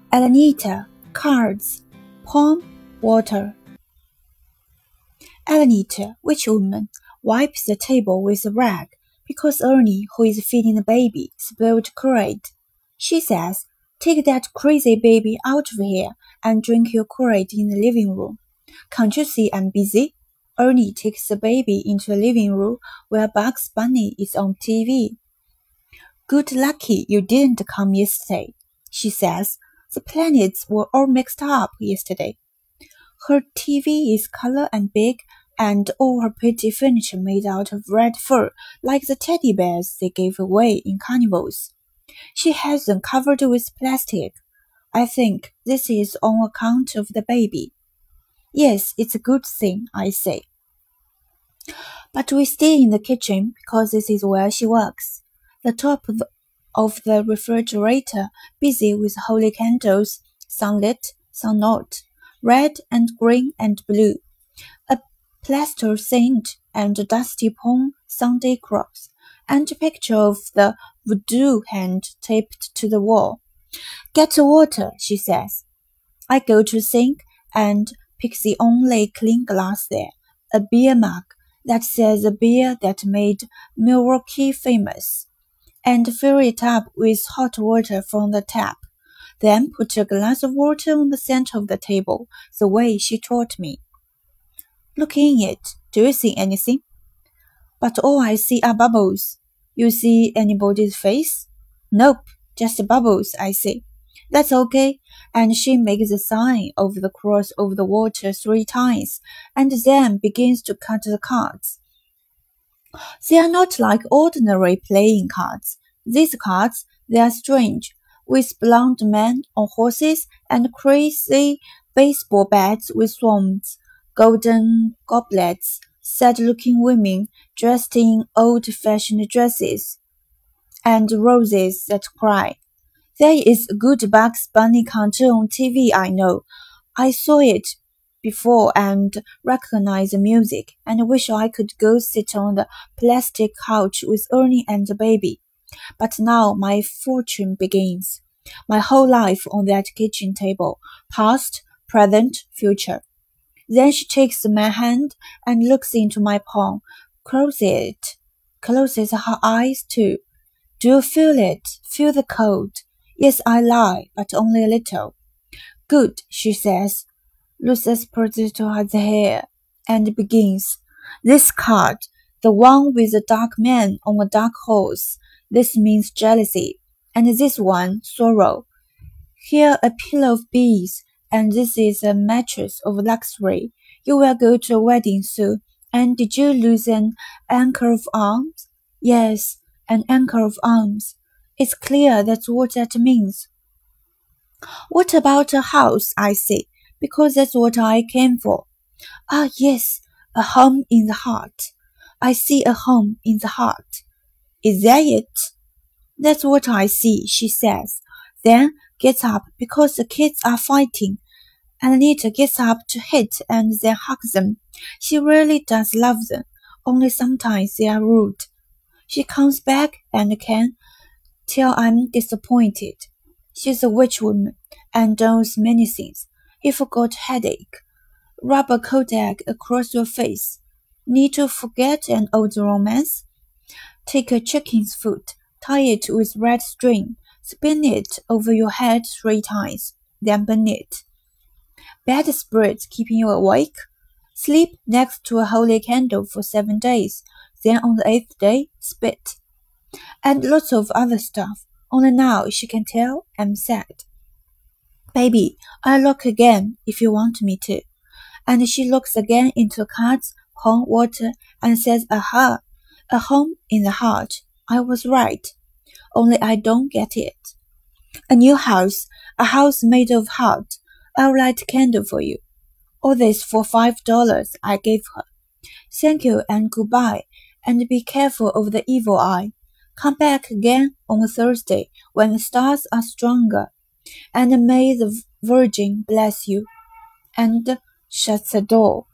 Alanita, cards, palm, water. Alanita, witch woman, wipes the table with a rag because Ernie, who is feeding the baby, spilled Kool-Aid. She says, "Take that crazy baby out of here and drink your Kool-Aid in the living room. Can't you see I'm busy?" Ernie takes the baby into the living room where Bugs Bunny is on TV. "Good lucky you didn't come yesterday," she says. "The planets were all mixed up yesterday." Her TV is color and big, and all her pretty furniture made out of red fur, like the teddy bears they gave away in carnivals. She has them covered with plastic. I think this is on account of the baby. "Yes, it's a good thing," I say. But we stay in the kitchen because this is where she works. The top of the refrigerator busy with holy candles, some lit, some not, red and green and blue, a plaster saint and a dusty palm Sunday cross, and a picture of the voodoo hand taped to the wall. "Get the water," she says. I go to the sink and pick the only clean glass there, a beer mug that says a beer that made Milwaukee famous, and fill it up with hot water from the tap. Then put a glass of water on the center of the table, the way she taught me. "Look in it. Do you see anything?" "But all I see are bubbles." "You see anybody's face?" "Nope, just bubbles," I say. "That's okay." And she makes the sign of the cross over the water 3 times, and then begins to cut the cards. They are not like ordinary playing cards. These cards, they are strange, with blonde men on horses and crazy baseball bats with swans, golden goblets, sad-looking women dressed in old-fashioned dresses, and roses that cry. There is a good Bugs Bunny cartoon on TV, I know. I saw it before and recognize the music, and wish I could go sit on the plastic couch with Ernie and the baby. But now my fortune begins. My whole life on that kitchen table, past, present, future. Then she takes my hand and looks into my palm, closes her eyes too. "Do you feel it? Feel the cold?" "Yes, I lie, but only a little." "Good," she says, looses potato her hair, and begins. "This card, the one with the dark man on a dark horse, this means jealousy, and this one, sorrow. Here a pillow of bees, and this is a mattress of luxury. You will go to a wedding soon, and did you lose an anchor of arms?" "Yes, an anchor of arms." It's clear that's what that means. "What about a house?" I say, because that's what I came for. "Ah, yes, a home in the heart. I see a home in the heart." "Is that it?" "That's what I see," she says, then gets up because the kids are fighting. Anita gets up to hit and then hug them. She really does love them, only sometimes they are rude. She comes back and can tell I'm disappointed. She's a witch woman and knows many things. If you got headache, rub a Kodak across your face. Need to forget an old romance? Take a chicken's foot, tie it with red string, spin it over your head 3 times, then burn it. Bad spirits keeping you awake? Sleep next to a holy candle for 7 days, then on the 8th day, spit. And lots of other stuff, only now she can tell I'm sad. "Baby, I'll look again if you want me to." And she looks again into the cards, palm, water, and says, "Aha, a home in the heart. I was right. Only I don't get it. A new house, a house made of heart. I'll light a candle for you." All this for $5 I gave her. "Thank you and goodbye, and be careful of the evil eye. Come back again on Thursday when the stars are stronger, and may the Virgin bless you," and shuts the door.